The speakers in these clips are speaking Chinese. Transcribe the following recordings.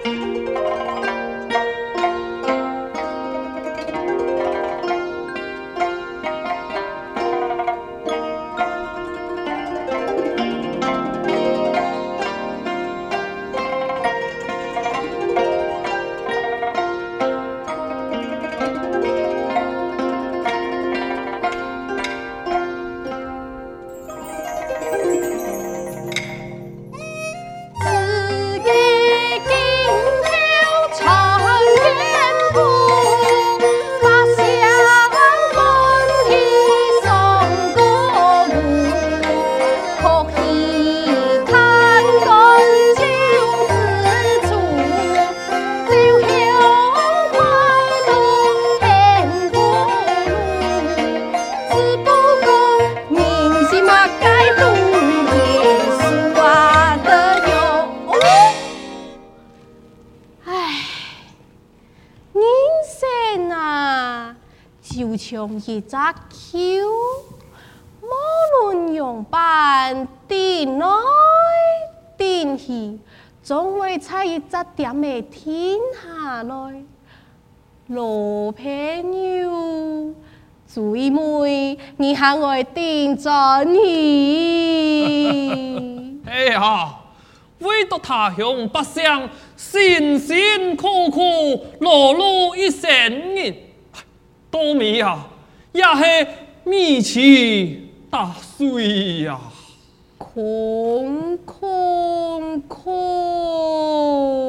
像一隻球，無論用板頂來頂去，總會在一隻點的停下來。老朋友，最美你喊我頂轉去。 哎呀，為了他鄉百姓辛辛苦苦勞碌一生人。稻米啊，也是米奇打水呀， 空空空。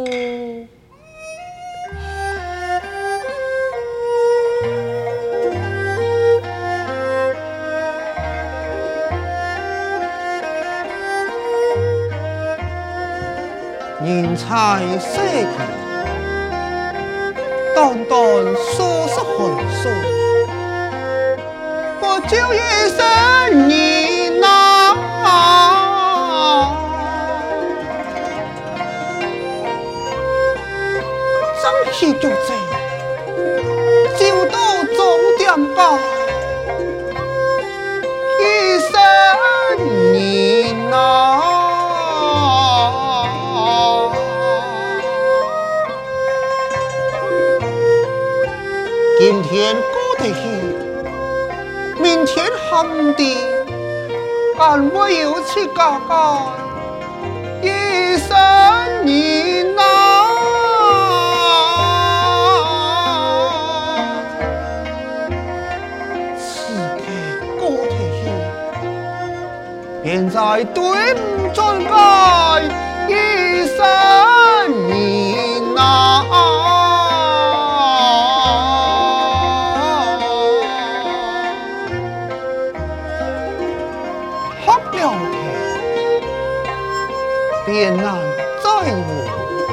人才世界。淡淡说是寒暑，我就一生你呐，争气就这，就到终點吧，一生你呐。今天過得去，明天喊的，俺我有去嘎嘎，一生你呐。此刻過得去，現在對唔准愛，一生你呐。便難在我，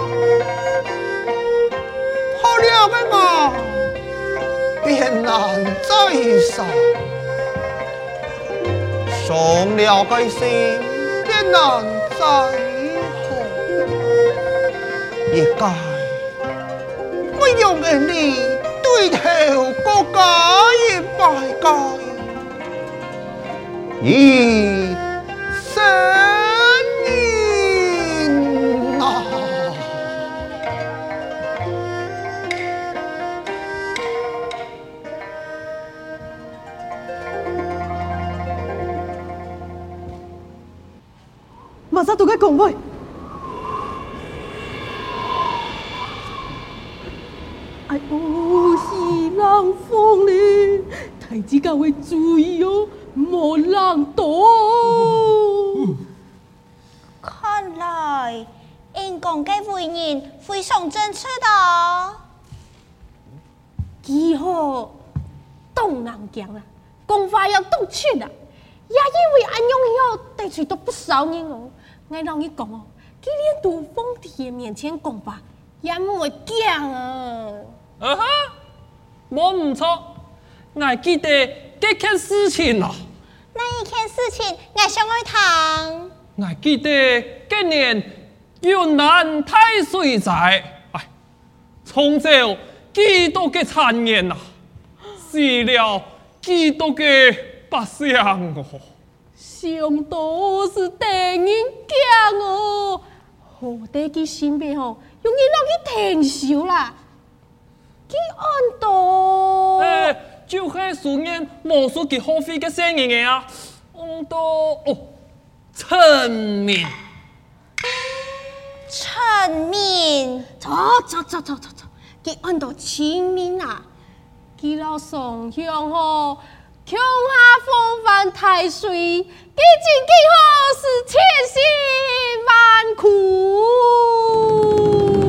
好了個嘛，便難在上，傷了個心，便難在後，一該我用的你對頭國家一百該，一生。 馬上都該講話。哎呦，是人瘋咧！太子教會注意哦，莫人多。 看來，因講嘅為人非常正確的。 以後東南講啦，講話要懂趣啦，也因為安用以後得罪到不少人哦。我讓你講哦，佢連杜鳳弟面前講話也唔會驚啊！ 啊哈，我唔錯，我記得這件事情啊。 那一件事情，我想去談。 我記得今年雲南大水災，哎，沖走幾多個產業啊，死了幾多個百姓哦。 上都是等人驚哦， 好在佢身邊吼，用人落去停手啦。佢按到， 就係數年無數佢好飛嘅聲音嘅啊，按到陳明。 陳明， 錯，佢按到清明啊，佢老上香吼。強下風帆太水，幾經幾好是千辛萬苦。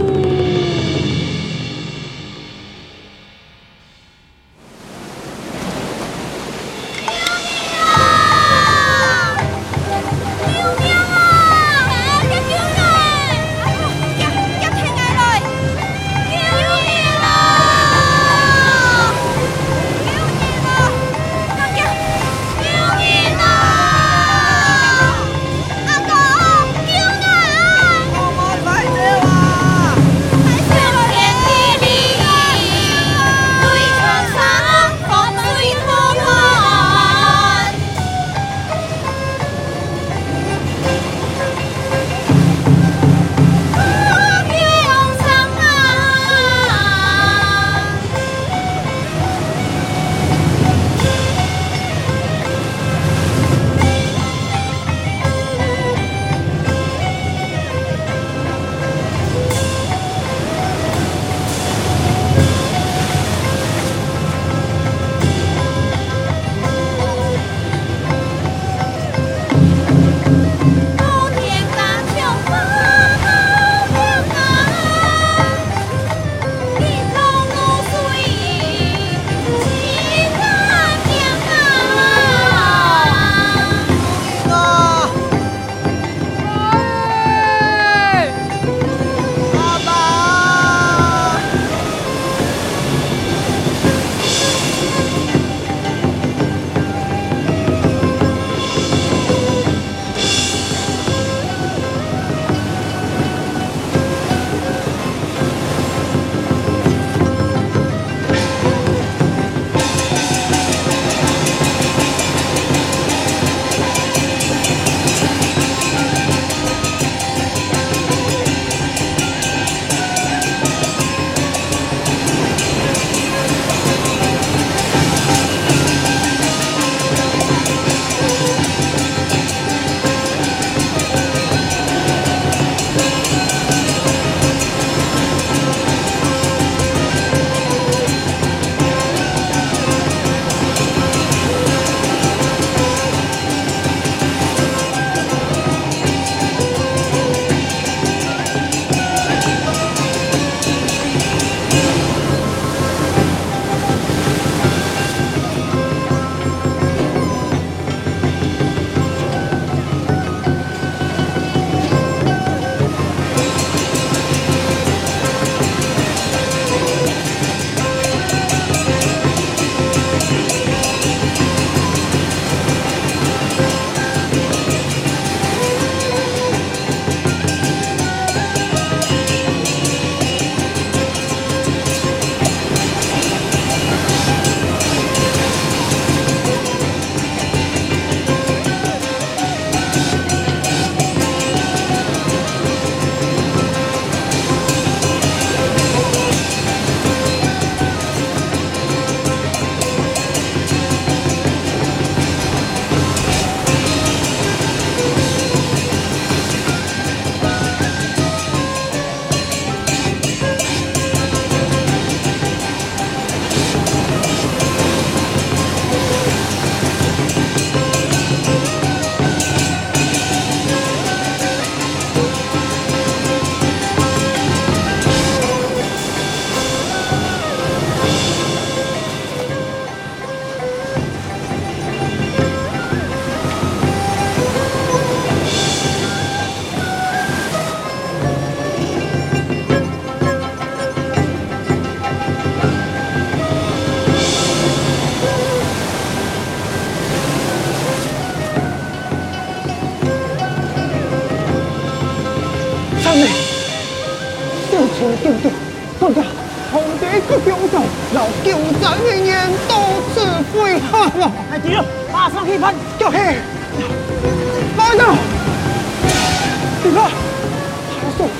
救救！大家，皇帝去救救！老救咱的人都是废汉了！ 太急了，马上去办！ 叫嘿，来人！你看，还说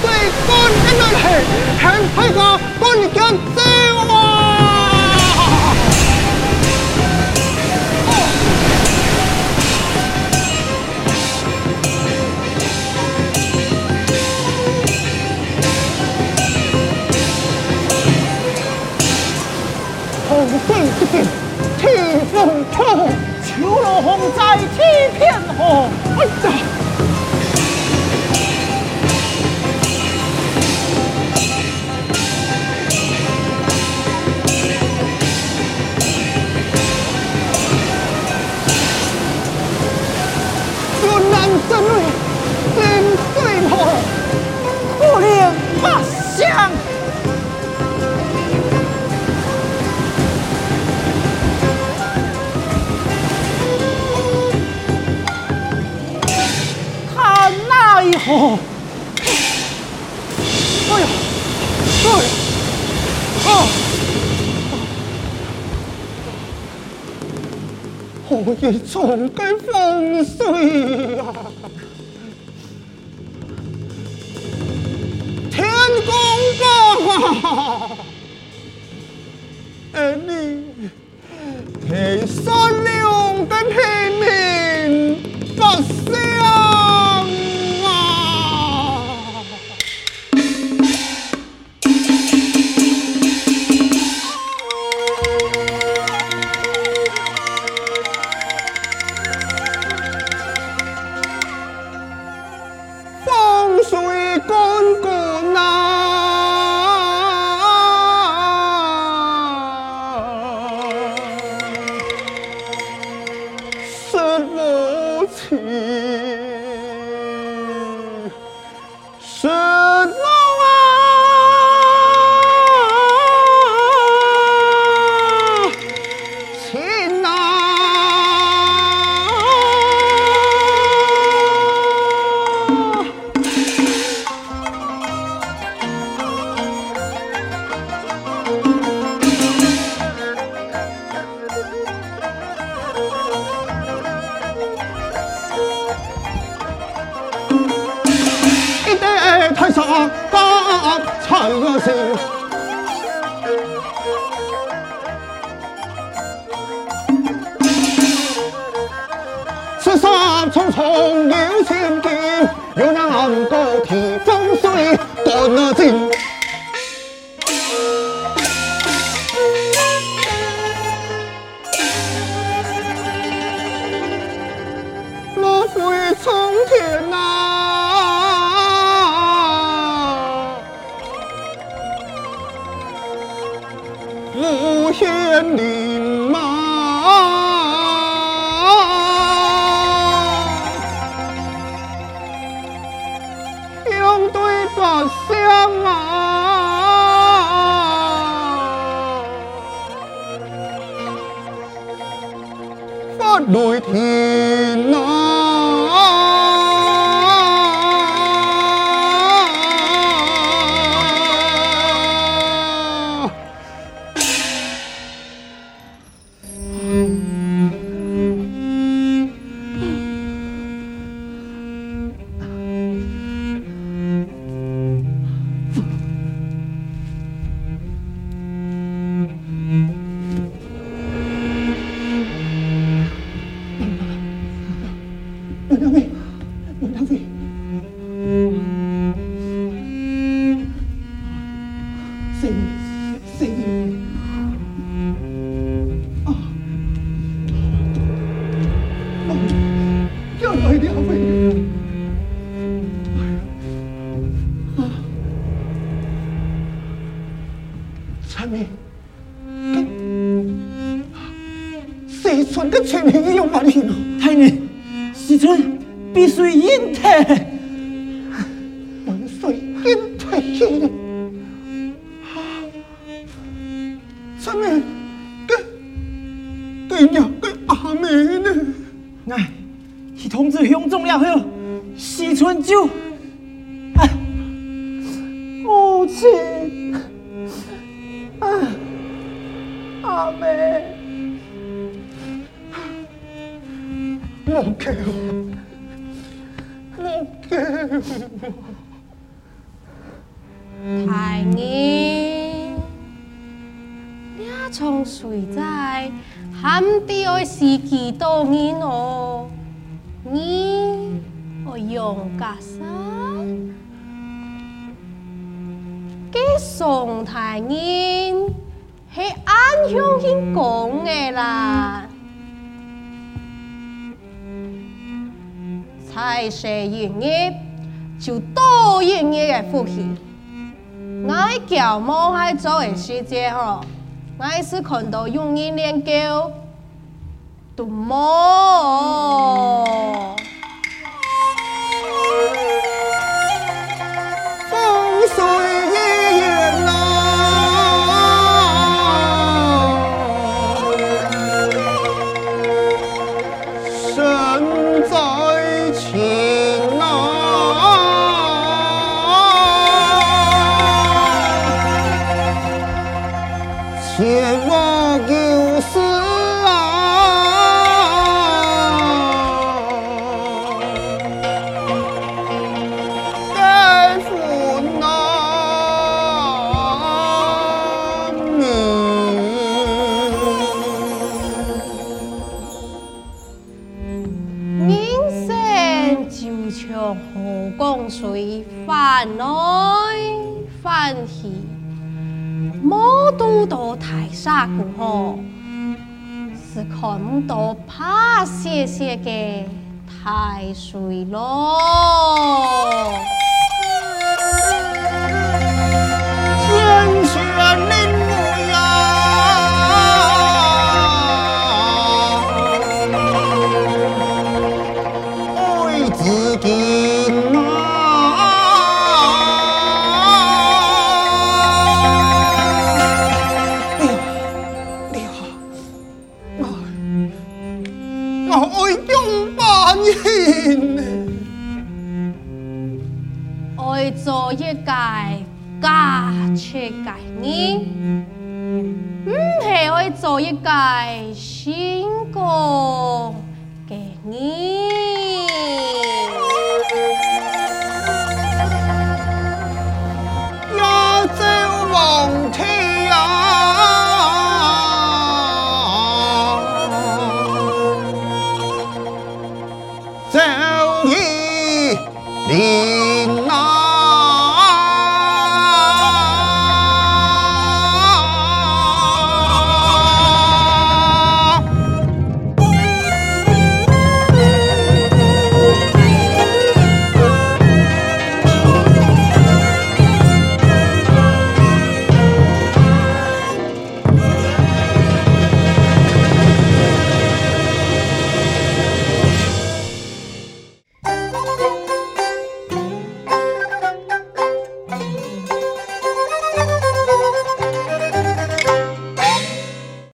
對乾一來氣，向開個乾腳走啊！紅水一片，天風破，秋落紅在天片紅。哎呀！云南真瑞，临水河，不令八乡。哦，哎呀，哎呀，啊！何以從該風水啊？天公吧，你係善良的平民百姓。太傻大才是，此山重重有千間，有難高提風水斷了盡。落飛從天啊！無限林馬，相對百相啊，發雷天啊！西村的情形有問題咯，太年，西村必須引退，必須引退去。上面對呀，個阿妹呢？哎，去通知鄉眾了後，西村就，哎，母親，哎，阿妹。莫給我，莫給我！ 從誰在喊地愛是幾多年哦？你我用架啥？嘅宋太人係安鄉人講嘅啦，才學營業就多營業嘅福氣。我叫冇係做嘅世界嗬，我是看到用人研究都冇。 風水一眼身在情切莫有事该负难人生就像河江水，翻來翻去，冇渡到大沙過河，是看唔到怕些些嘅大水咯。 天選靈母呀，愛自己我愛中班人， 愛做一屆假出界人，唔係愛做一屆成功嘅人。 也走望天。